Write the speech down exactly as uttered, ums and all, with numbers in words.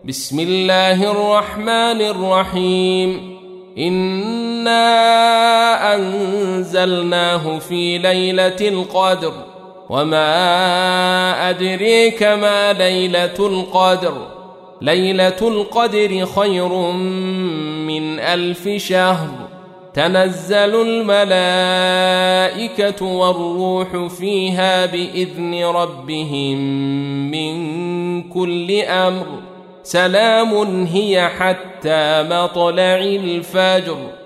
بسم الله الرحمن الرحيم إنا أنزلناه في ليلة القدر وما أدريك ما ليلة القدر ليلة القدر خير من ألف شهر تنزل الملائكة والروح فيها بإذن ربهم من كل أمر سلام هي حتى مطلع الفجر.